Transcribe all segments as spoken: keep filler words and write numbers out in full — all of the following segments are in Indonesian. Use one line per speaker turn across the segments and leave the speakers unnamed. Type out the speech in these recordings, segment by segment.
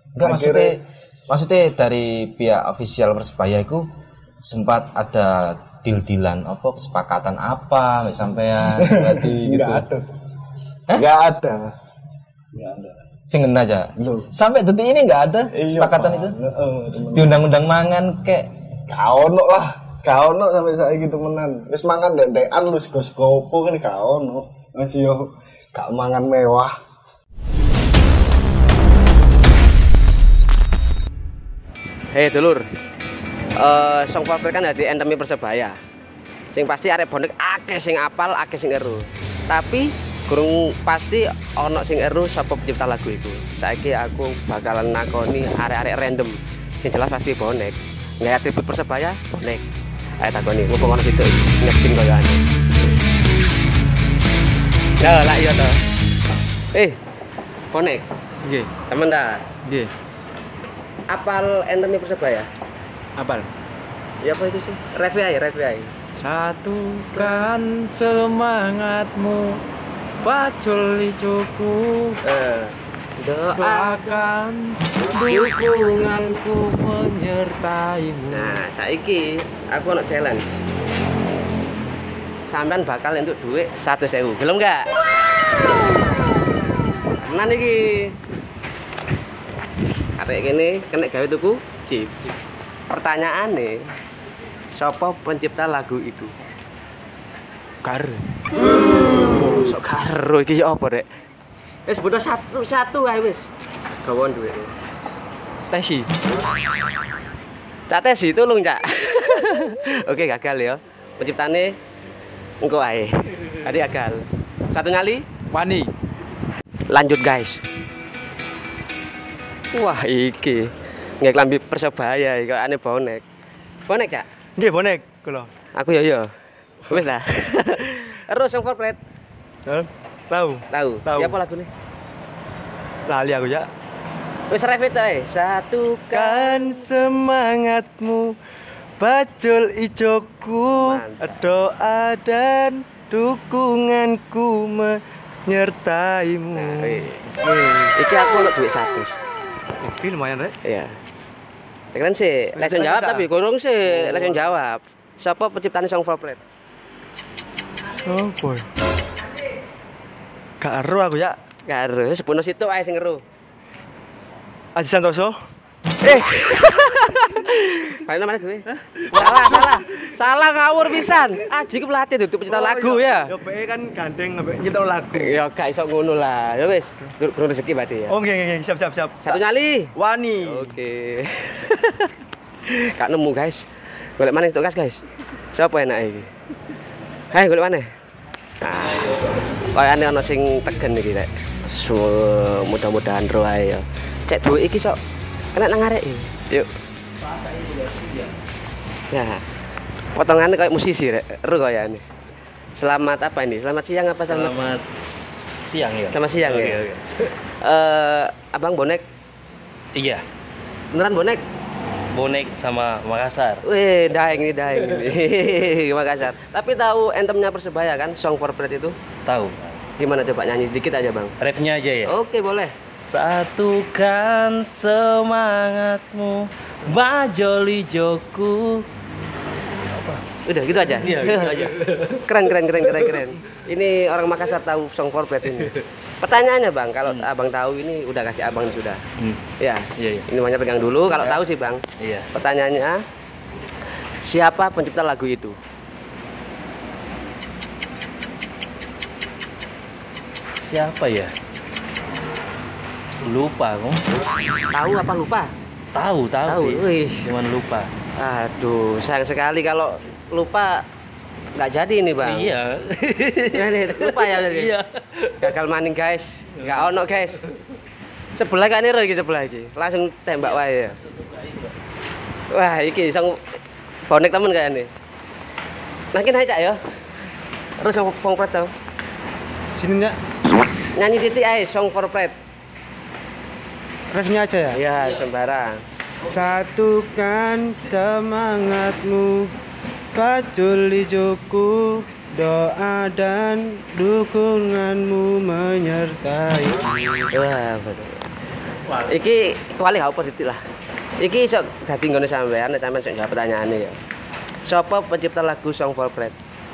Enggak maksudnya maksudnya dari pihak ofisial Persebaya itu sempat ada deal-dealan apa kesepakatan apa sampean berarti gitu.
Enggak ada. Enggak ada. Enggak ada.
Sing ngena aja. Sampai detik ini enggak ada kesepakatan itu. Heeh, di undang-undang mangan kayak
gak ono lah. Gak ono sampai saiki temenan. Wis mangan ndek-ndekan lu sego-segopo kan gak ono. Wis yo gak mangan mewah.
Hei dulur, uh, Song Forpret kan dadi antemi Persebaya. Sing pasti arek bonek akeh sing apal, akeh sing eru. Tapi gurung pasti ono sing eru sapa pencipta lagu iku. Saiki aku bakalan nakoni arek-arek random. Sing jelas pasti bonek. Nggak atribut Persebaya, bonek. Ayo takoni, mumpung ono situ nyekin koyoane. Ya lah iya toh. Eh, bonek.
Nggih.
Temen ta?
Nggih.
Apal antemi Persebaya?
Apal?
Ya apa itu sih? Review aja, review aja.
Satukan semangatmu, pacul ijoku.
Eh,
doakan dukunganku menyertaimu.
Nah, saiki aku ono challenge. Sampean bakal entuk duit seratus ribu. Gelem enggak? Tenan iki. Arek kene kena gawe tuku chip. Pertanyaane, sapa pencipta lagu itu?
Karo.
Sok karo iki ya apa, Rek? Wis bodo satu satu ae wis. Gawon duwe.
Tesi.
Cak Tesi tulung, Cak. Oke, gagal ya. Penciptane engko ae. Tadi gagal. Satu nyali,
Wani.
lanjut guys. Wah, iki nggak klambi Persebaya iki aneh bonek. Bonek ya?
Nggih, bonek kula.
Aku ya ya. Wis lah. Terus Song Forpret.
Heh, tahu.
Tahu.
Tahu.
Ya apa lagune?
Lali aku ya.
Wis repeat ae. Satukan
Kan semangatmu, pacul ijoku,
Mantap.
doa dan dukunganku menyertaimu.
Nah, iki aku ono duit satu.
Iki lumayan, Rek.
Iya. Cekeran sih, lesson jawab tapi kurang sih, lesson jawab. Siapa penciptane Song Forpret?
Oh, boy. Gak ero aku ya.
Karo sepono situ ae sing ngeru.
Aji Santoso.
Eh. Paling mana gue? Salah, salah. Salah ngawur pisan. Aji ku pelatih duduk pencipta lagu ya.
Yo P E kan gandeng ambek nyipta lagu.
Ya gak iso ngono lah. Ya wis, durung rezeki berarti ya.
Oh, nggih nggih, siap siap siap.
Satu nyali.
Wani.
Oke. Gak nemu, guys. Golek maneh tok, guys. Siapa enak iki? Hai, golek maneh. Nah, kayane ana sing tegen iki, Rek. So, mudah-mudahan ro ae ya. Cek duit iki sok kena nang arek iki. Yuk. Ya. Potongannya kayak musisi, Rek. Ro kayane. Selamat apa ini? Selamat siang apa selamat?
Selamat siang ya.
Selamat siang
Oke,
ya.
oke.
Eh, Abang bonek,
Iya,
beneran bonek?
bonek sama Makassar.
Wih, daeng ini daeng ini. Makassar. Tapi tahu entemnya Persebaya kan, Song Forpret itu?
Tahu.
Gimana coba nyanyi dikit aja, Bang?
Refnya aja ya.
Oke, boleh.
Satukan semangatmu, bajoli joku.
Udah gitu aja.
Iya, gitu aja.
Keren keren keren keren keren. Ini orang Makassar tahu Song Forpret ini. Pertanyaannya, Bang, kalau
Hmm.
Abang tahu ini udah kasih Abang sudah.
Hmm.
Ya.
Iya, iya.
Ini namanya pegang dulu kalau
Ya.
tahu sih, Bang.
Iya.
Pertanyaannya, siapa pencipta lagu itu?
Siapa ya? Lupa aku.
Tahu apa lupa?
Tahu, tahu,
Tahu.
sih.
Wih.
Cuman lupa.
Aduh, sayang sekali kalau lupa nggak jadi ini, Bang.
Iya.
Jadi, lupa ya jadi.
Iya.
Gagal maning, guys. Nggak ono, guys. Sebelah kan ini sebelah iki. Langsung tembak wae ya. Wah, iki sang bonek temen kayaknya. Nah, kini aja ya. Terus Song Forpret tau.
Sini enggak?
Nyanyi titik ae Song Forpret.
Refnya aja ya.
Iya, sembarang.
Satukan semangatmu, pacul ijoku, doa dan dukunganmu menyertai.
Wah, betul. Iki kuali gak apa titik lah. Iki iso dadi nggone sampean, nek sampean sok jawab pertanyaane ya. Siapa pencipta lagu Song for Pride?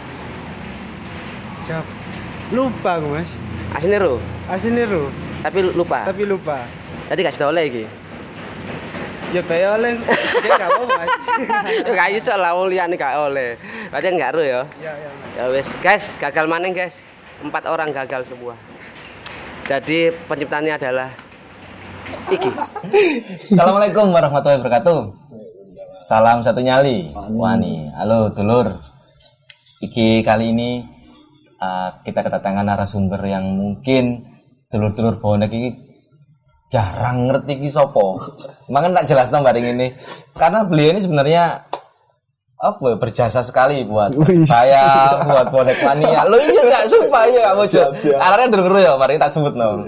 Siap. Lupa aku, Mas.
Asine ro,
Asine ro,
tapi lupa.
tapi lupa.
Tadi gak sedole iki.
Ya bae oleh. Dia enggak apa, Mas.
Ya gak iso lah wong liyane gak oleh. Berarti enggak ro ya.
Ya, ya, Mas.
Ya wis, guys, gagal maning, guys. Empat orang gagal semua. Jadi penciptanya adalah iki.
Assalamualaikum warahmatullahi wabarakatuh. Salam satu nyali. Wani. Halo dulur. Iki kali ini uh, kita kedatangan narasumber yang mungkin dulur-dulur bonek iki jarang ngerti iki sopo. Makanya tak jelas nomor ini. Karena beliau ini sebenarnya apa berjasa sekali buat Persebaya, buat bonek mania. Lo iya cak sumpah ya kamu cak. Arahnya dulu ya, mari tak sebut no.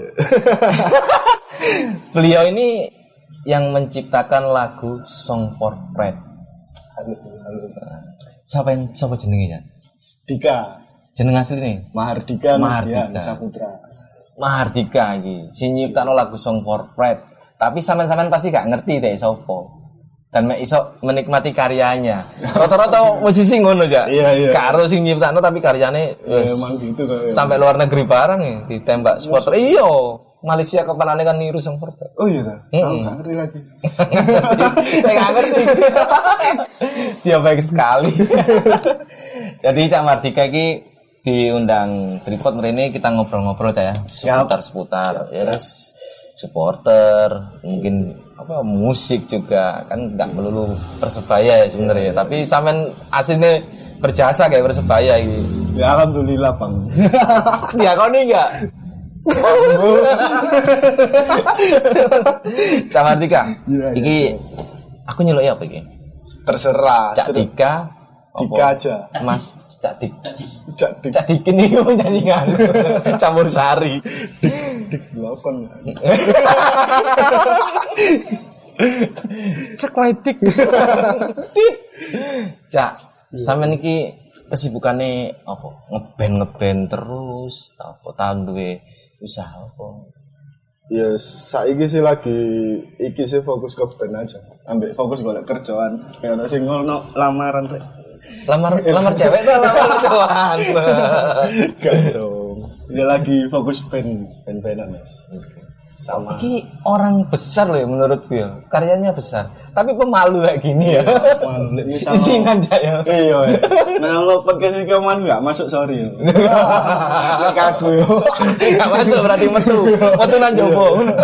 Beliau ini yang menciptakan lagu Song for Pride.
Halo, halo.
Siapa yang siapa jenengnya?
Dika.
Jeneng asli nih?
Mahardika.
Mahardika.
Saputra.
Mahardika iki. Si nyiptakno lagu Song for Pride. Tapi sampean-sampean pasti gak ngerti deh sopo. Dan mek iso menikmati karyanya. Rata-rata musisi ngono aja.
Iya, iya.
Karo sing nyiptakno tapi karyane
Ya,
wes,
emang gitu kayak.
sampai luar negeri barang ya ditembak supporter. Iya. Malaysia kepanane kan niru Song for Pride.
Oh iya dah.
Mm-mm.
Aku nggak ngerti lagi.
Saya nggak ngerti. Dia baik sekali. Jadi Cak Mahardika ini diundang Tripod ini kita ngobrol-ngobrol Cak ya. Seputar-seputar. Yes. Supporter, mungkin apa musik juga kan nggak melulu Persebaya ya sebenarnya. Tapi sampean aslinya berjasa kayak Persebaya gitu.
Ya alhamdulillah Bang.
Ya kau nih enggak? Cak Mahardika,
Ya, ya,
iki aku nyeluk ya apa iki?
Terserah.
Cak Dika,
Dika
apa?
aja.
Mas Cak Dik,
Cak Dik.
Cak Dikin ini nyanyian campur sari.
Dik belakon.
Cak Dik. Cak, sampean iki kesibukannya apa? Ngeband ngeband terus, apa tahun duwe usaha apa?
Ya saiki sih lagi iki sih fokus ke band aja. Ambek fokus golek kerjaan. Kayak ono sing ngono lamaran rek.
Lamar lamar cewek tuh lamar cowok.
Gak dong. Ya lagi fokus band, band-bandan Mas. Sama.
Ini orang besar loh ya menurutku ya. Karyanya besar. Tapi pemalu kayak gini ya.
Malu lek misal.
Isinan aja ya.
Iya. Nah, lo podcast iki man enggak masuk sorry. Nek aku yo.
Enggak masuk berarti metu. Metu nang jowo.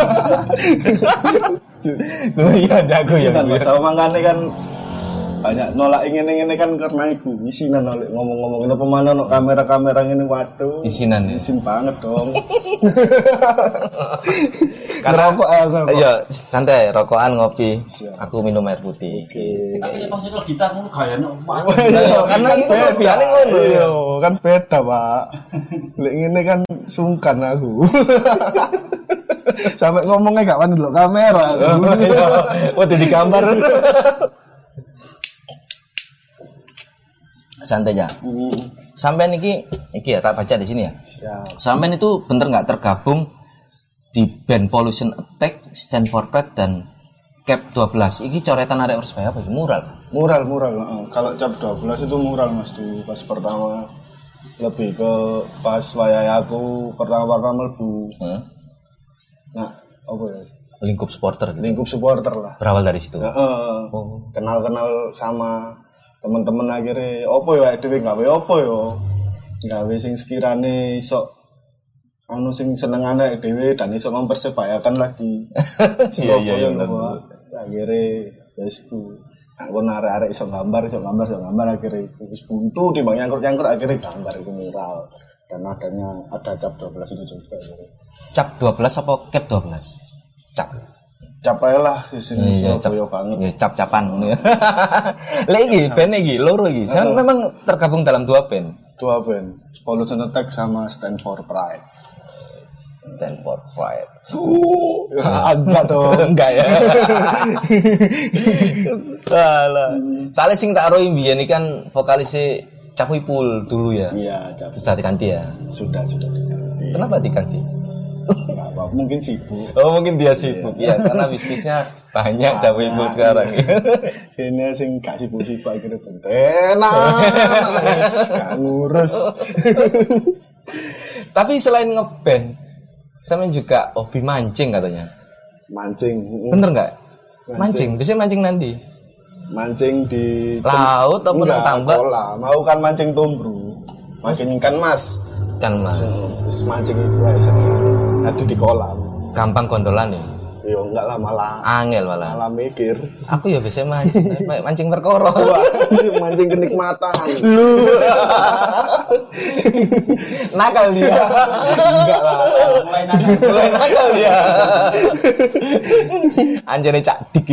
Loh iya jago ya.
Kan sama mangane kan banyak nolak ingin-ingin kan karena iku isinan nolak ngomong-ngomong kenapa mana no kamera-kamera ini waduh
Isinan ya.
isin banget dong.
Karena
Ngerokok, eh, ngerokok.
iya santai rokokan ngopi.
Siap.
Aku minum air putih.
Tapi pas itu gitar ngono gayane omah.
Iya, karena itu kelebihannya ngono.
Iya, kan beda, Pak. Lek ngene kan sungkan aku. Sampai ngomongnya gak wani delok kamera.
Waduh di gambar. Santai aja. Sampean iki iki ya tak baca di sini ya.
Siap.
Sampean itu bener nggak tergabung di band Pollution Attack, Stand for Pride dan Cap dua belas. Iki coretan arek Persebaya apa iki? Mural.
Mural, mural. Uh, kalau cap dua belas itu mural Mas di pas pertama lebih ke pas wayai aku pertama-tama mlebu.
Hmm?
Nah, apa ya?
Lingkup supporter gitu.
Lingkup supporter lah.
Berawal dari situ.
Nah, uh,
Oh.
kenal-kenal sama teman-teman akhirnya opo ya dhewe gawe opo yo. Gawe sing sekirane iso anu sing senengane dhewe dan iso mempersebayakan lagi.
Iya iya iya.
Akhirnya wis ku aku arek-arek iso gambar, iso gambar, iso gambar akhirnya wis buntu timbang nyangkrut-nyangkrut akhirnya gambar itu mural. Dan adanya ada cap dua belas itu juga.
Cap dua belas apa Cap dua belas? Cap.
Capai lah sini
Iya, cap
Surabaya banget.
Ya, cap-capan ngono ya. Lah iki band iki loro iki. Saya memang tergabung dalam dua band.
Dua band, Pollution Attack sama Stand for Pride.
Stand for Pride.
Ya, enggak dong.
Enggak ya. Alah. Soalnya sing tak roi mbiyen iki kan vokalisnya Capuipul dulu ya.
Iya, cap.
Terus sudah diganti ya.
Sudah, sudah diganti.
Kenapa diganti?
Enggak apa, mungkin sibuk.
Oh mungkin dia sibuk ya karena bisnisnya banyak jauh ibu sekarang.
Sini sing gak sibuk-sibuk akhirnya enak. Gak ngurus.
Tapi selain ngeband, sama juga hobi mancing katanya.
Mancing.
Bener nggak? Mancing. Biasanya mancing nanti.
Mancing di
laut atau nang tambak?
Kolam. Mau kan mancing tumbru. Mancing ikan mas.
Kan mas.
Terus mancing itu aja. Tadi di kolam.
Gampang gondolan ya?
Yo enggak lah malah.
Angel malah.
Malah mikir.
Aku ya biasanya mancing, mancing perkara.
Mancing kenikmatan.
Lu. Nakal dia.
Enggak lah.
Mulai nakal.
Mulai nakal dia. Anjane cak dik.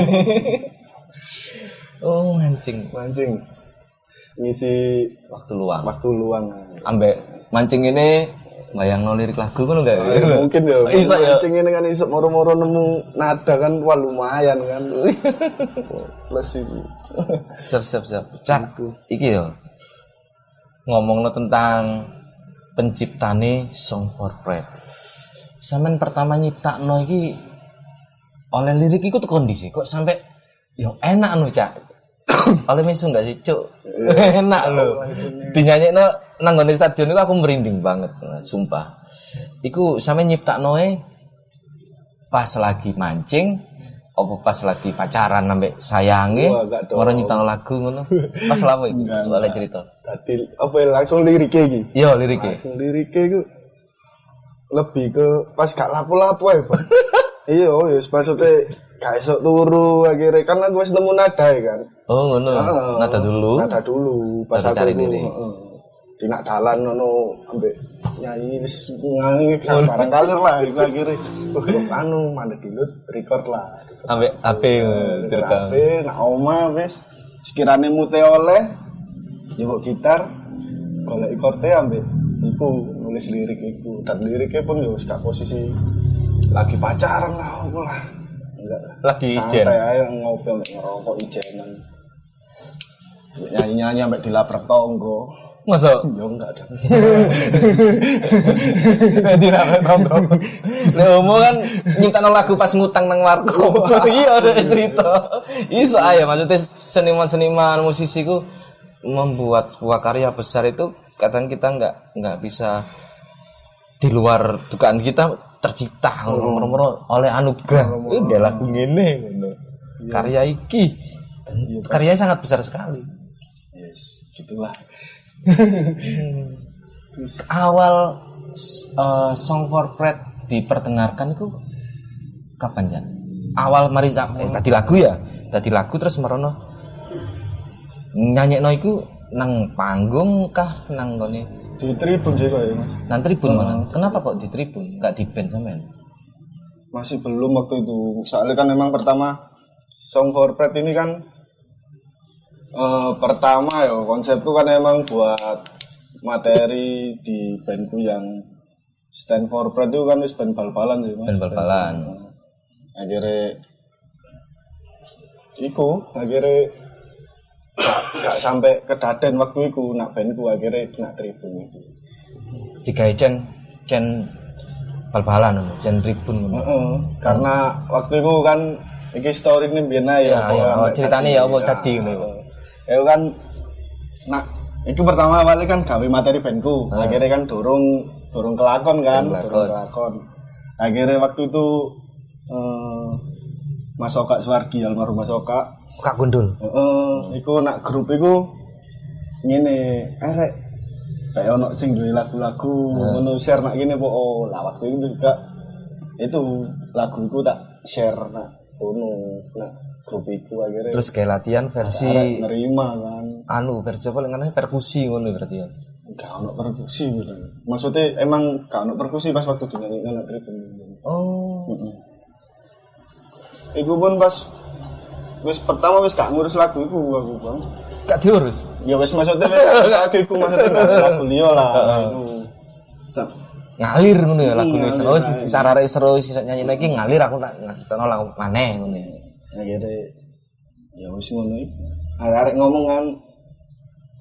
Oh, mancing.
Mancing. Ngisi
Waktu luang.
waktu luang.
Ambek mancing ini bayang lirik lagu kan enggak?
Ah, mungkin ya.
Iso ya.
Mancing ini kan iso moro-moro nemu nada kan wah lumayan kan. Plus itu.
Siap siap siap. Cak, iki yo. Ngomongno tentang penciptane Song for Pride. Sampeyan pertama nyiptakno iki oleh lirik iku tekan ndi sih? Kok sampai yo enak anu, Cak. Oleh misu enggak sih, Cuk? Enak lho. Dinyanyekno nang ngene stadion iku aku merinding banget, sumpah. Iku sampe nyiptaknoe pas lagi mancing apa pas lagi pacaran sampe sayange ora nyiptakno lagu ngono. Pas lapo iku? Oleh cerita.
Dadi apa ya, langsung lirike iki.
Yo lirike.
Langsung lirike iku lebih ke pas gak lapo-lapo ae, Bang. Iya, ya maksudnya gak esok turu akhirnya kan aku wis nemu nada ya kan.
Oh ngono.
Uh,
nada dulu.
Nada dulu pas aku
cari diri.
Heeh. Di nak dalan ngono ambek nyanyi wis ngangi barang kalir lah iku akhirnya. Wah, anu mandek dulu record lah.
Ambek H P direkam.
H P nak oma wis sekirane mute oleh nyebok gitar golek chord-e ambek iku nulis lirik iku dan liriknya pun yo wis gak posisi lagi pacaran lah aku lah. Enggak lah.
Lagi ijen.
Santai ae ngopi ambek ngerokok ijenan. Nyanyi-nyanyi ambek dilabrak tonggo.
Masa?
Yo enggak ada.
Dilabrak tonggo. Lek omong kan nyiptakno lagu pas ngutang nang warkop. Iya ada cerita. Iso ae maksudnya seniman-seniman musisi ku membuat sebuah karya besar itu kadang kita enggak enggak bisa di luar dugaan kita tercipta ngono-ngono oleh anugerah. Eh gak lagu ngene ngono. Karya iki. Karyanya sangat besar sekali.
Yes, gitulah.
Awal uh, Song for Pride diperdengarkan itu kapan ya? Awal mari eh, tadi lagu ya, tadi lagu terus merono nyanyekno iku nang panggung kah nang gone
Di tribun sih kok ya, Mas.
nang tribun mana? Kenapa kok di tribun? Enggak di band sampean?
Masih belum waktu itu. Soalnya kan memang pertama Song for Pride ini kan uh, pertama ya konsepku kan emang buat materi di bandku yang Stand for Pride itu kan wis band bal-balan sih, Mas.
Band bal-balan.
Akhirnya iku akhirnya gak, gak sampai kedaden waktu itu nak bandku akhirnya nak tribun itu.
Digawe cen cen bal-balan cen tribun ngono.
Heeh, karena waktu itu kan iki story ini biyen ae
ya. Ya, ya, ceritane ya apa tadi ngono.
Ya kan nak itu pertama awalnya kan gawe materi bandku. Hmm. Akhirnya kan dorong dorong kelakon kan, dorong kelakon. Akhirnya waktu itu eh, Mas Oka Suwardi almarhum Mas Oka
Kak Gundul.
Heeh, iku nak grup iku ngene, arek kayak ono sing duwe lagu-lagu ngono share nak ngene po. Oh, lah waktu itu juga itu lagu iku tak share nak ngono nak grup iku akhirnya.
Terus kayak latihan versi
nerima kan.
Anu versi apa lengannya perkusi ngono berarti ya.
Gak ono perkusi gitu. Maksudnya emang gak ono perkusi pas waktu dinyanyi nang tribun. Oh. Heeh. Iku pun pas wis pertama wis gak ngurus lagu iku aku, Bang.
Gak diurus.
Ya wis maksudnya wis lagu iku maksudnya gak lagu liya lah iku.
Ngalir ngono ya lagune. Oh sarare seru iso nyanyi lagi ngalir aku nak ngono lagu maneh ngono.
Akhire ya wis ngono iki. Arek ngomong kan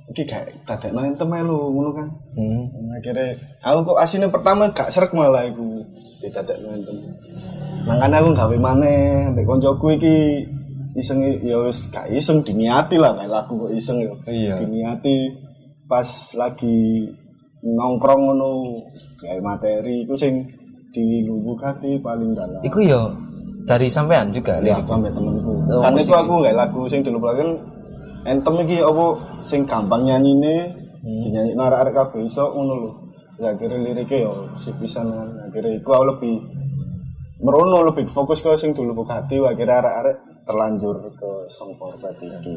iki gak dadekno entem ae lho ngono kan.
Hmm.
Akhirnya aku kok asine pertama gak srek malah iku didadekno entem. Mangane aku gawe maneh mbek koncoku iki iseng ya wis gak iseng diniati lah kayak lagu kok iseng ya.
Iya.
Diniati pas lagi nongkrong ngono gawe materi iku sing dilubuk hati paling dalam.
Iku yo dari sampean juga
lirik
lirik.
sampe temenku.
Oh,
Kan
musik
iku aku gawe lagu sing diluburaken entem iki apa sing gampang nyanyine, hmm. dinyanyi arek-arek kabeh iso ngono lho. Ya akhirnya liriknya yo sip pisan kan. Akhirnya iku aku lebih merono lebih fokus ke sing dulu buka hati, akhirnya arek-arek terlanjur ke song forward iki.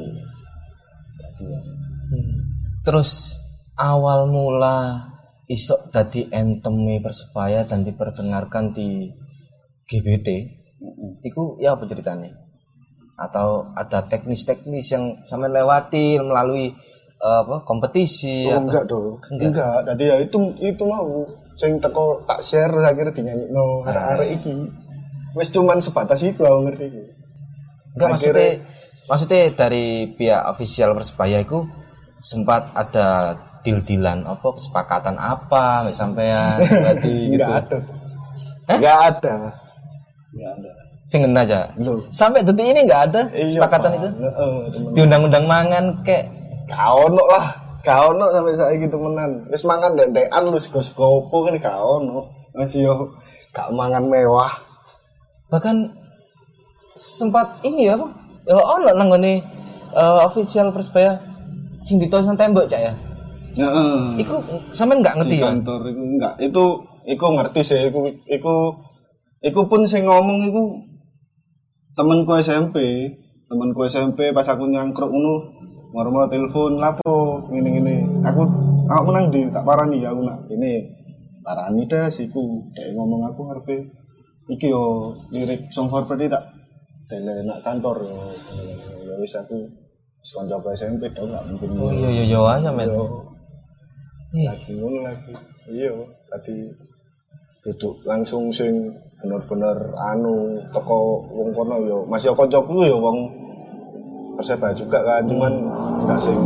Hmm. Terus awal mula iso dadi anteme Persebaya dan diperdengarkan di G B T. Mm-hmm. Iku ya apa ceritanya? Atau ada teknis-teknis yang sampean lewati melalui uh, apa kompetisi
oh,
atau
enggak dong. Enggak. Enggak, tadi ya itu itu mau sing teko tak share akhirnya dinyanyikno arek-arek iki. Wis cuman sebatas itu aku ngerti iki.
Enggak maksudnya maksudnya dari pihak official Persebaya itu sempat ada deal-dealan apa kesepakatan apa sampean berarti gitu.
Enggak ada.
Eh?
Enggak ada. Enggak ada.
Sing ngena aja.
Loh.
Sampai detik ini enggak ada kesepakatan
iya,
itu.
Heeh,
di undang-undang mangan kek
gak ono lah. Gak ono sampai saiki temenan. Wis mangan ndek-ndekan lu sego-segopo kan gak ono. Masih yo gak mangan mewah.
Bahkan sempat ini ya apa? Ya ono nang ngene uh, official Persebaya sing ditulis nang tembok cak ya.
Heeh.
Iku sampean enggak ngerti
di
ya?
kantor iku enggak. Itu iku ngerti sih iku iku iku pun sing ngomong iku temenku S M P, temenku S M P pas aku nyangkruk ngono, moro-moro telepon lapo ngene-ngene. Aku aku menang di tak parani aku nak ini parani dah siku. Dek ngomong aku ngarepe iki yo lirik song forward tak tele nak kantor yo. Ya wis aku wis kanca S M P dong gak mungkin.
Oh iya iya iya aja men.
Iya. Lagi ngono lagi. Iya, tadi duduk langsung sing bener-bener anu toko wong kono yo masih kancaku yo wong Persebaya juga kan cuman enggak sing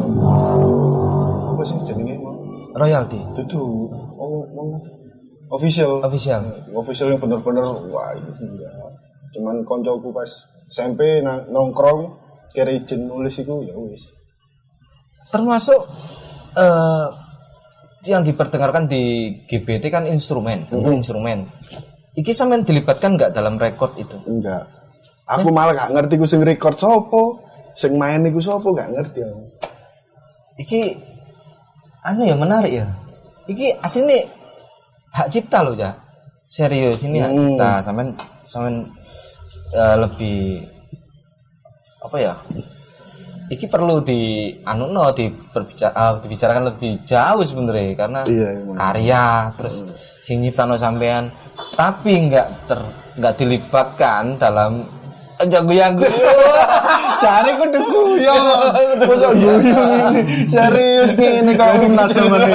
apa sih jenenge
royalty
dudu oh wong official
official
official yang bener-bener wah itu ya cuman kancaku pas S M P nongkrong kira izin nulis iku ya wis
termasuk uh, yang diperdengarkan di G B T kan instrumen mm-hmm. instrumen iki sampean dilibatkan enggak dalam rekod itu?
Enggak. Aku malah gak ngerti ku sing record sopo, sing main iku sopo gak ngerti aku.
Iki anu ya menarik ya. Iki asline hak cipta loh ya. Serius ini hak hmm. cipta sampean sampean uh, lebih apa ya? Iki perlu di anu no di berbicara uh, dibicarakan lebih jauh sebenarnya karena iya, karya terus hmm. sing nyiptano sampean tapi enggak ter enggak dilibatkan dalam jago-jago.
Cari kudu guyon. Kok guyon ini. Serius ini kok timnas sebenarnya.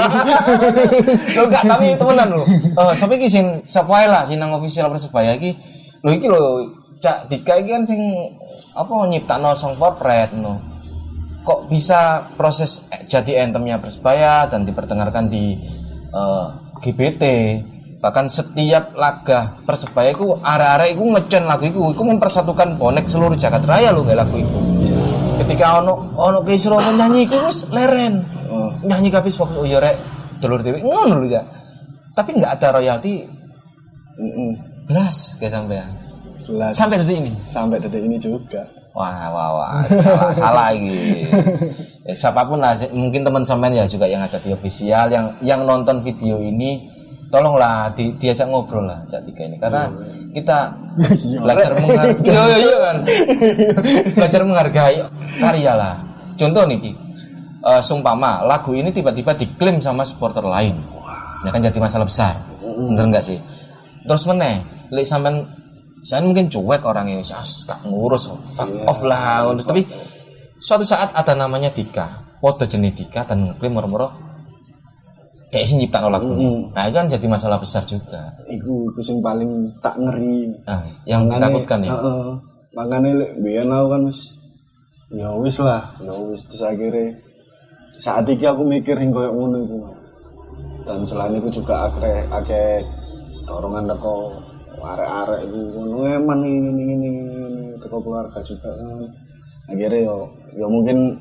Lho enggak tapi temenan lho. Eh sampe iki sing sapa ae lah sing nang official Persebaya iki. Lho iki lho Cak Dika iki kan sing apa nyiptakno song portrait no. Kok bisa proses jadi anthemnya Persebaya dan diperdengarkan di uh, G B T. Bahkan setiap laga Persebaya iku arek-arek iku ngecen lagu iku, iku mempersatukan bonek seluruh jagat raya lho gak lagu iku. Ketika ono ono kisruh nyanyi iku wis leren. Oh. Nyanyi kabis fokus oh ya rek dulur dhewe ngono lho ya. Tapi enggak ada royalti. Heeh. Belas kayak sampean. Belas. Sampai detik ini.
Sampai detik ini juga.
Wah, wah, wah, salah, salah lagi. Eh, siapapun lah, mungkin teman sampean ya juga yang ada di official, yang yang nonton video ini, tolonglah di, diajak ngobrol lah Cak Dika ini, karena kita belajar menghargai, iya, iya kan, belajar menghargai karya lah. Contoh nih, uh, sumpama lagu ini tiba-tiba diklaim sama supporter lain, ya kan jadi masalah besar, bener nggak sih? Terus meneh, lek sampean saya mungkin cuek orangnya, sas gak ngurus, fuck yeah. off lah. Tapi suatu saat ada namanya Dika, foto jenis Dika dan ngeklaim moro-moro kayak sih nyiptain lagu. Mm-hmm. Nah itu kan jadi masalah besar juga.
Iku itu yang paling tak ngeri.
Nah, yang makanya, ditakutkan ya.
Uh, makanya lek biyen aku kan wis ya wis lah, ya wis terus akhirnya saat iki aku mikir hing koyo ngono iku. Dan selain itu juga akeh akeh dorongan teko arek-arek iku ngono eman ini ini ini teko keluarga juga kan. Akhirnya yo yo mungkin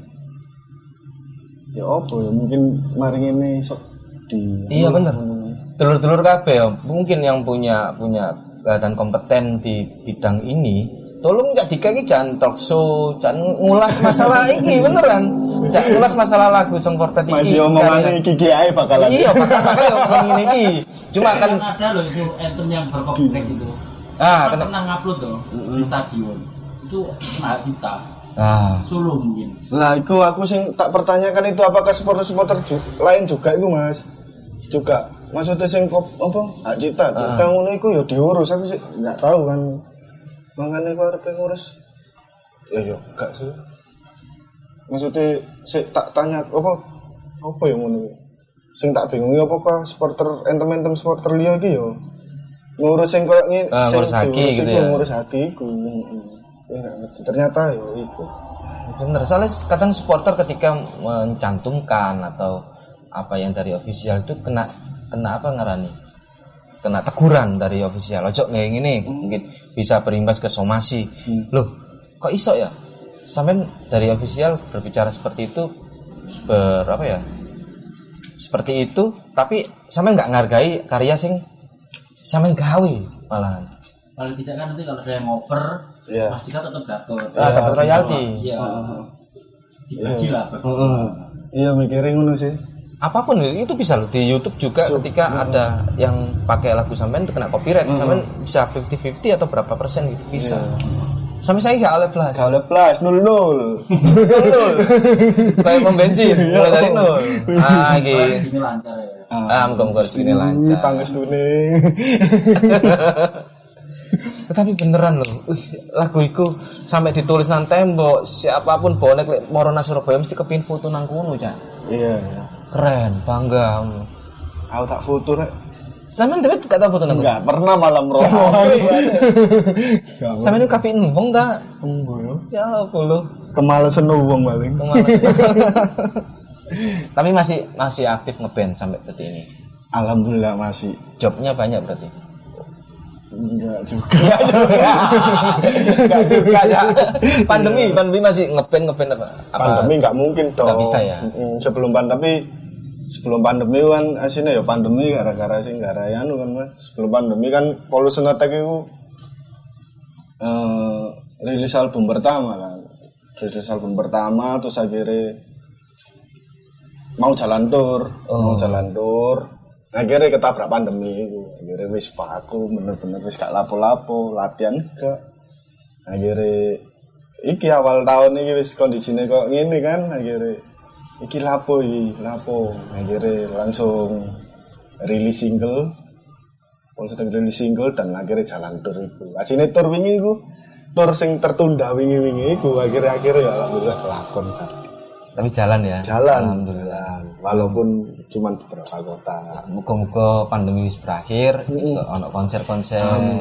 ya apa ya mungkin mari ngene sok di
iya bener. Telur-telur kabeh ya, mungkin yang punya punya dan kompeten di bidang ini, tolong nggak dikaki jangan talk show, jangan ngulas masalah ini beneran, jangan ngulas masalah lagu Song Fortet ini.
Masih omongannya gigi ae bakalan.
Iya bakal bakal ya ngomongin ini. Cuma kan
ada loh itu anthem yang berkomplek gitu.
Ah,
kan
kena
pernah ngupload tuh di stadion. Itu kena kita.
Ah,
Solo mungkin.
Lah iku aku sing tak pertanyakan itu apakah supporter-supporter ju- lain juga itu Mas? Juga maksudnya sing kop apa hak cipta uh. Kang ngono iku ya diurus aku sih enggak tahu kan. Mangane aku arep ngurus. Ya yo gak sih. Maksudnya sik tak tanya apa apa yang ngono. Sing tak bingung apakah supporter entem-entem supporter liya iki yo ngurus sing koyo ngene
uh,
sing
ngurus hati gitu ya.
Ngurus hati iku. Ya enggak ngerti. Ternyata yo iku.
Bener, soalnya kadang supporter ketika mencantumkan atau apa yang dari official itu kena kena apa ngarani? Kena teguran dari official. Ojo kayak gini, hmm. mungkin bisa berimbas ke somasi. Hmm. Loh, kok iso ya? Sampean dari official berbicara seperti itu ber apa ya? Seperti itu, tapi sampean nggak ngargai karya sing sampean gawe malahan.
Paling tidak kan nanti kalau ada yang over,
yeah.
Mas Cika tetap dapat.
Ah, dapat royalti.
Iya.
Uh,
Dibagi lah.
Uh, uh, iya mikirin ngono sih.
Apapun itu bisa loh di YouTube juga Cuk, ketika uh, ada yang pakai lagu sampean itu kena copyright, uh, sampean bisa lima puluh lima puluh atau berapa persen gitu bisa. Yeah. Sampai saya enggak oleh plus.
Enggak oleh plus nol nol.
nol. Kayak pom bensin mulai dari nol. Ah, gitu.
Ini lancar ya.
Ah, muga-muga rezekine lancar.
Pangestune.
Tapi beneran loh, uh, lagu itu sampai ditulis nang tembok, siapapun bonek lek Morona Surabaya mesti kepin foto nang kono, Cak.
Iya, iya.
Keren, bangga.
Aku tak foto rek.
Sampeyan dhewe gak tau foto nang kono?
Enggak, pernah malam rono.
Sampeyan kepin wong ta?
Tunggu yo.
Ya apa lo?
Kemalesan wong paling.
Tapi masih masih aktif ngeband sampai detik ini.
Alhamdulillah masih.
Jobnya banyak berarti.
Enggak juga.
Enggak juga. Enggak juga ya. Pandemi, pandemi masih ngeband ngeband apa? apa?
Pandemi enggak mungkin dong.
Enggak bisa ya.
Sebelum pandemi sebelum pandemi kan asine ya pandemi gara-gara sing gara anu kan Mas. Sebelum pandemi kan Pollution Attack itu eh rilis album pertama kan. Rilis album pertama terus akhirnya mau jalan tour, oh. mau jalan tour. Akhirnya ketabrak pandemi itu, akhirnya wis vakum, bener-bener wis gak lapo-lapo, latihan gak. Akhirnya iki awal tahun ini wis kondisinya kok gini kan, akhirnya iki lapo iki, lapo. Akhirnya langsung rilis single, langsung rilis single dan akhirnya jalan tour itu. Asine tour wingi itu, tour sing tertunda wingi-wingi itu, akhirnya-akhirnya ya alhamdulillah kelakon kan.
Tapi jalan ya.
Jalan, alhamdulillah. Walaupun cuma beberapa kota.
Muga-muga pandemi wis berakhir, iso ono konser-konser.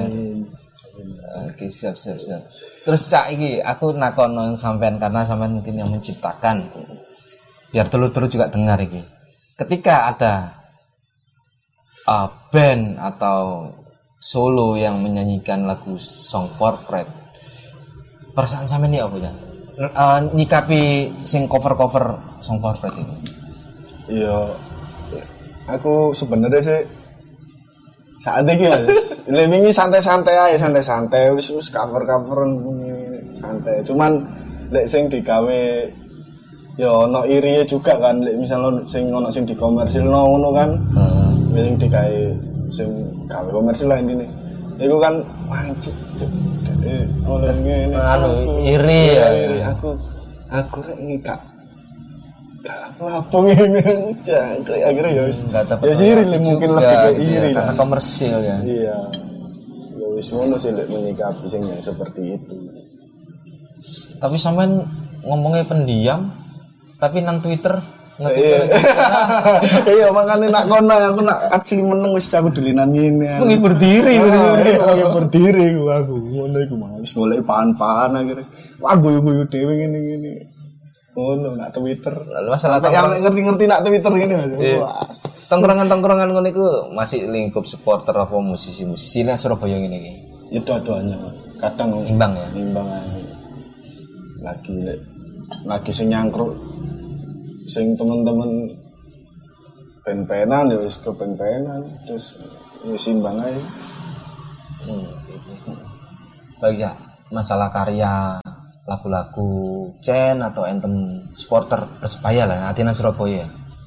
Oke, siap siap siap. Terus Cak iki aku nakon sampean karena sampean mungkin yang menciptakan. Biar telur-telur juga dengar iki. Ketika ada uh, band atau solo yang menyanyikan lagu Song Fortet, perasaan sampean iki apa ya? Uh, nyikapi sing cover-cover Song Fortet ini.
Iya. Aku sebenarnya sih saat ini Mas, ini santai-santai aja, santai-santai wis wis cover-coveran santai. Cuman lek sing digawe ya ono iriye juga kan, lek misalnya sing ono sing dikomersilno ngono kan. Heeh. Hmm. Sing digawe sing gawe komersil lah intine. Iku kan wancik. Eh, oleh ngene
anu iri ya.
Iri aku. Aku rek ngikak. Gak lapung ngene jangkrik akhirnya ya wis. Ya iri mungkin lebih ke iri
karena komersil ya.
Iya. Ya wis ngono sih lek menyikapi sing yang seperti itu.
Tapi sampean ngomongnya pendiam tapi nang Twitter
nge-Twitter. Iya makane nak kono aku nak asli meneng wis aku dolinan ngene.
Menghibur diri
menghibur diri aku ngono iku Mas. Golek pahan-pahan akhirnya. Wah guyu-guyu dhewe ngene-ngene. ngono nak Twitter.
Masalah
Sampai yang ngerti-ngerti nak Twitter gini Mas. Wah.
Tongkrongan-tongkrongan ngono iku masih lingkup supporter apa musisi-musisi nang Surabaya ngene iki.
Itu aduannya Mas. Kadang
Imbang ya.
Imbang aja. Lagi lagi sing nyangkruk sing temen-temen pen-penan ya wis ke pen-penan terus ya simbang aja.
Hmm, baik ya, masalah karya lagu-lagu Chen atau anthem supporter Persebaya lah, Atina Surabaya.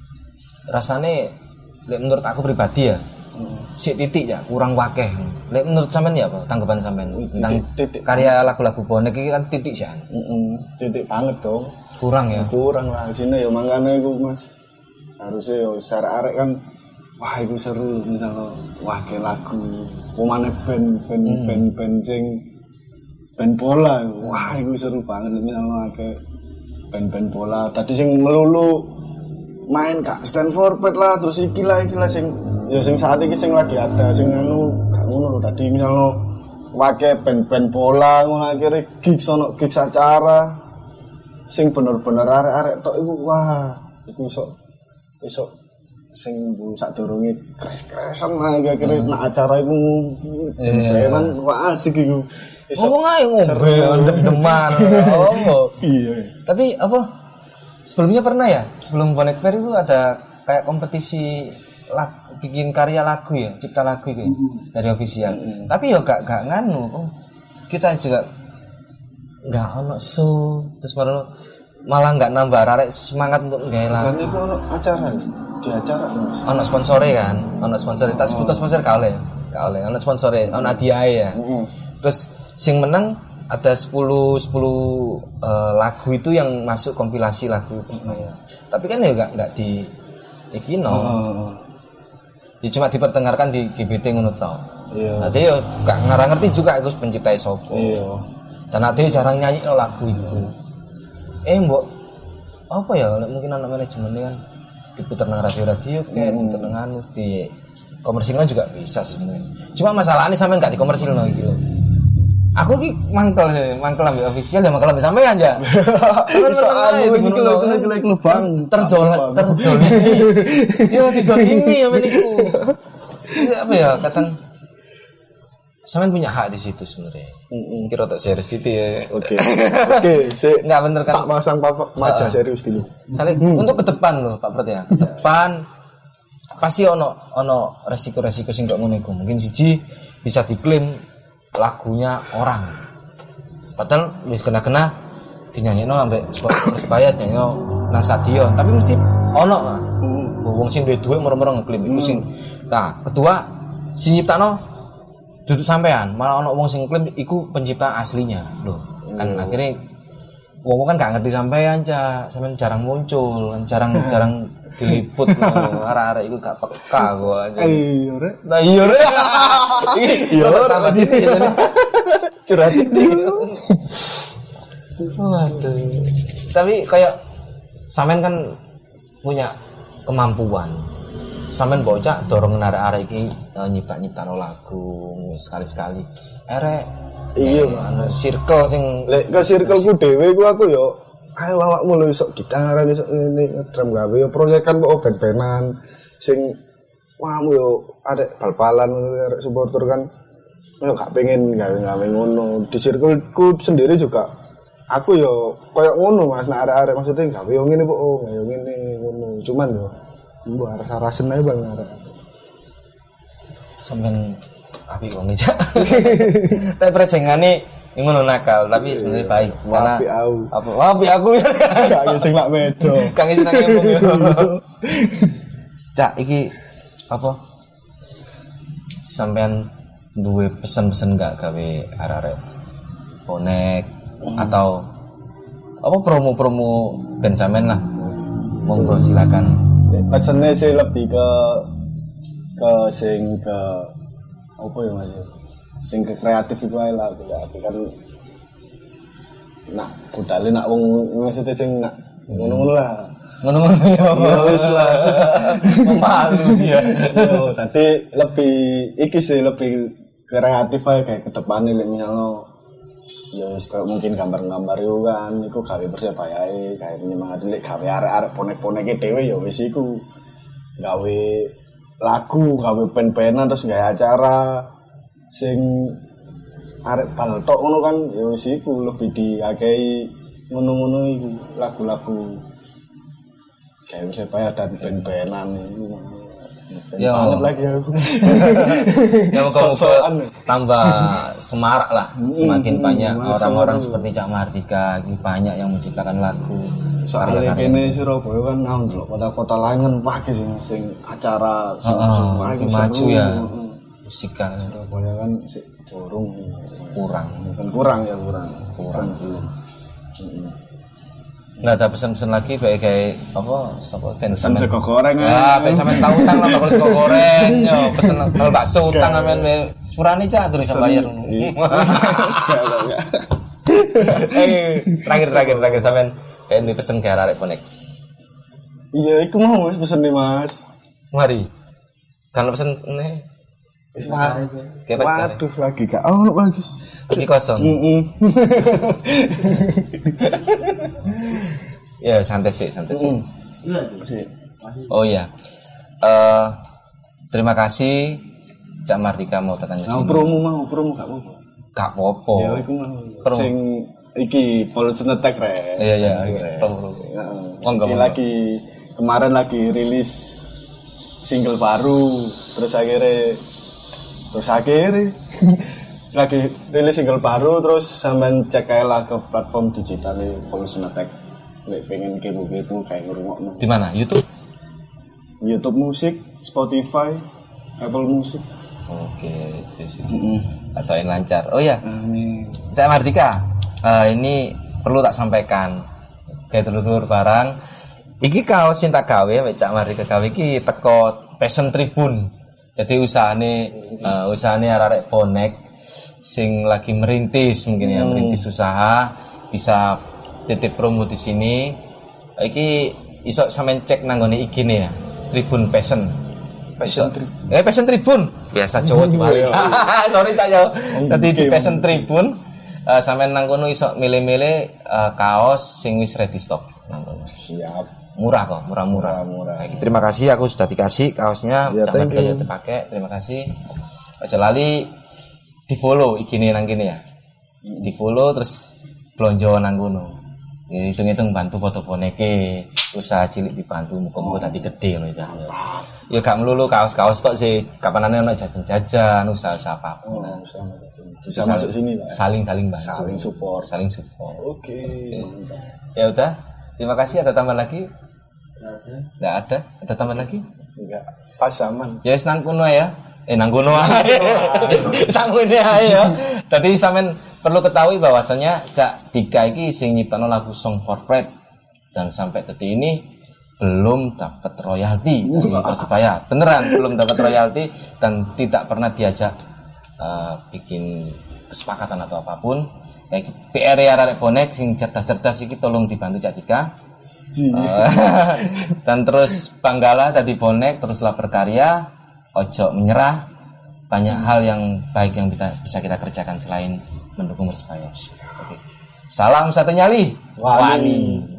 Rasane lek menurut aku pribadi ya, hmm. sik titik ya kurang wakeh. Lek menurut sampean ya apa tanggapan sampean tentang titik, karya lagu-lagu bonek iki kan titik sih.
Heeh, titik banget dong.
Kurang ya.
Kurang lah sini ya mangkane iku Mas. Harusnya yo secara arek kan wah itu seru misalnya wah ke lagu pemane band band hmm. band band sing band bola wah itu seru banget misalnya ke band band bola tadi sing melulu main kak stand for pet lah terus iki lah iki lah sing ya sing saat iki sing lagi ada sing anu gak ngono tadi misalnya wake band band bola ngono akhirnya gigs sono gigs acara sing bener-bener arek-arek tok iku wah iku iso iso sing bu sadurunge kres-kresan lah kira-kira hmm. nak acara iku ben wah asik iku
ngomong ae ngombe dem-deman oh
iya
tapi apa sebelumnya pernah ya sebelum Bonek Fair itu ada kayak kompetisi lag, bikin karya lagu ya cipta lagu itu hmm. dari official hmm. tapi yo gak gak nganu oh, kita juga gak ono show terus malah malah nggak nambah arek semangat untuk nggak lagu.
Kan itu ono acara di acara Mas.
Ono sponsore kan, ono sponsor. Tas oh. sponsor kale, kale. Ono sponsore, ono hadiah ya. Mm-hmm. Terus sing menang ada sepuluh uh, lagu itu yang masuk kompilasi lagu Persebaya. Tapi kan ya nggak nggak di iki no. Oh. Ya cuma diperdengarkan di G B T ngono tau. Iya. Nanti yo nggak ngarang ngerti juga aku pencipta sopo. Iya. Dan nanti jarang nyanyi no lagu itu. Eh mbok apa ya mungkin anak manajemen kan diputar nang radio-radio kayak hmm. diputar nang anu di komersilnya juga bisa sebenarnya. Cuma masalahnya sampean gak di komersil no iki lho. Aku ki mangkel mangkel ambil official ya mangkel ambil sampean aja. Sampean menang ae iki lho gelek lubang terjol terjol. Yo dizolimi ya men iku. Apa ya kadang sampean punya hak di situ sebenarnya. Heeh. Kira tak serius itu ya.
Oke. Oke, sik enggak bener kan. Tak pasang maja serius dulu.
Saling hmm. untuk ke depan loh Pak Pret ya. Ke depan pasti ono ono resiko-resiko sing gak ngono iku. Mungkin siji bisa diklaim lagunya orang. Padahal wis kena-kena dinyanyekno ambek Persebaya nyanyi nang stadion, tapi mesti ono lah. Heeh. Wong sing duwe duwe moro-moro ngeklaim iku sing. Nah, kedua sing nyiptakno duduk sampean, malah ono wong sing klaim iku pencipta aslinya loh. Kan hmm. akhirnya wong kan gak ngerti sampean aja, sampean jarang muncul, kan jarang jarang diliput loh. Arek-arek iku gak peka gua aja.
Iya rek.
Nah iya rek. Iya sama dite jadi. Curhat itu. Waduh. Tapi kayak sampean kan punya kemampuan. Sampean bocah dorong arek-arek iki uh, nyipta-nyiptano lagu sekali-sekali. Erek
iya
anu circle sing
lek ke circleku dhewe ku aku yo ayo awakmu lho iso gitar iso ngene drum gawe yo proyekan kok ben-benan sing wamu yo arek bal-balan arek supporter kan yo gak pengen gawe-gawe ngono. Di circleku sendiri juga aku yo koyo ngono Mas nek arek-arek maksudnya gawe yo ngene kok oh gawe ngene ngono. Cuman yo mbok rasa-rasen ae bang arek.
Sampeyan api wong iki. Tapi perjengane ngono nakal, tapi sebenarnya baik. Karena
api aku.
Apa? Api aku ya.
Gak sing lak medo.
Kang iso nang embung yo. Cak iki apa? Sampeyan duwe pesen-pesen gak gawe arek-arek bonek hmm. atau apa promo-promo band sampean lah. Monggo silakan.
Pesennya sih lebih ke ke sing ke apa ya Mas? Sing ke kreatif itu ae lah kreatif kan nak budale nak wong maksudnya sing nak ngono-ngono lah.
Ngono-ngono ya.
Ya wis lah.
Malu dia.
Yo tadi lebih iki sih lebih kreatif ae kayak ke depane lek misalnya ya wis kaya mungkin gambar-gambar itu kan iku gawe Persebaya ae gawe penyemangat lek gawe arek-arek bonek-boneke dhewe ya wis iku gawe lagu gawe pen-penan terus gawe acara sing arek bal tok ngono kan ya wis iku lebih diakehi ngono-ngono iku lagu-lagu gawe Persebaya dan pen-penan iku
Ya
banget lagi aku.
Ya moga-moga tambah semarak lah. Semakin banyak orang-orang seperti Cak Mahardika, banyak yang menciptakan lagu.
Soalnya kene Surabaya kan nang ndelok kota-kota lain kan wae sing sing acara sing
maju ya. Musikal
Surabaya kan sik durung
kurang.
Bukan kurang ya kurang.
Kurang
belum.
Nggak ada pesan-pesan lagi kayak kayak apa sapa
pesan sego goreng
ya pengen sampean tahu utang lah bakal sego goreng yo pesen kalau bakso utang sampean surani cak terus bayar eh terakhir terakhir terakhir sampean pengen pesen ke arek bonek
iya iku mau pesen nih mas
mari kan pesen nih
waduh lagi gak ono lagi
lagi kosong ya santai sih santai sih oh iya uh, terima kasih Cak Mahardika mau datang ke sini
mau promo mau promo gak apa-apa
gak apa-apa
ya iku mau sing iki Pollution Attack re
iya iya promo
promo lagi kemarin lagi rilis single baru terus akhirnya terus akhirnya lagi rilis single baru terus sampean cek aja lah ke platform digital Pollution Attack lek pengen kepo-kepo kayak ngrungokno
di mana YouTube
YouTube musik Spotify Apple Music
oke sip sip atau yang lancar oh ya
amin
Cak Mahardika uh, ini perlu tak sampaikan kayak telur-telur barang iki kaos sing tak gawe mek Cak Mahardika gawe iki teko Passion Tribune. Jadi usahane uh, usahane arek bonek sing lagi merintis mungkin ya hmm. merintis usaha bisa titip promo di sini. Iki iso sampean cek nang ngene I G-ne ya. Tribun Passion. Passion Tribun. Eh Passion Tribun. Biasa cowok balik. Sorry Cak yo. Dadi di Passion Tribun uh, sampean nang kono iso milih-milih uh, kaos sing wis ready stock nang kono.
Siap.
Murah kok, murah-murah.
Murah.
Nah, terima kasih aku sudah dikasih kaosnya,
ya,
jangan tidak dipakai. Terima kasih. Aja lali di-follow I G-ne nang kene ya. Di-follow terus blonjo nang kono. Ya hitung-hitung bantu foto boneke, usaha cilik dibantu muga-muga dadi gede lho ya. Ya gak melulu kaos-kaos tok sih, kapanane ono jajan-jajan, usaha-usaha apapun.
Oh, usaha bisa masuk sini lah.
Saling-saling bantu.
Saling support,
saling support.
Oke. Okay.
Ya udah, terima kasih. Ada tambahan lagi? Enggak ada. Ada tambahan lagi?
Enggak. Pas aman.
Ya wis nang kono ya. Eh nang kono ae. Sangune ae ya. Tadi sampean perlu ketahui bahwasanya Cak Dika iki sing nyiptakno lagu Song for Pride dan sampai detik ini belum dapat royalti dari Persebaya. Beneran belum dapat royalti dan tidak pernah diajak uh, bikin kesepakatan atau apapun. Kayak P R ya arek bonek sing cerdas-cerdas iki tolong dibantu Cak Dika. Uh, dan terus banggalah tadi bonek teruslah berkarya, ojo menyerah. Banyak hal yang baik yang bisa, bisa kita kerjakan selain mendukung Persebaya. Oke. Salam satu nyali.
Wani. Wani.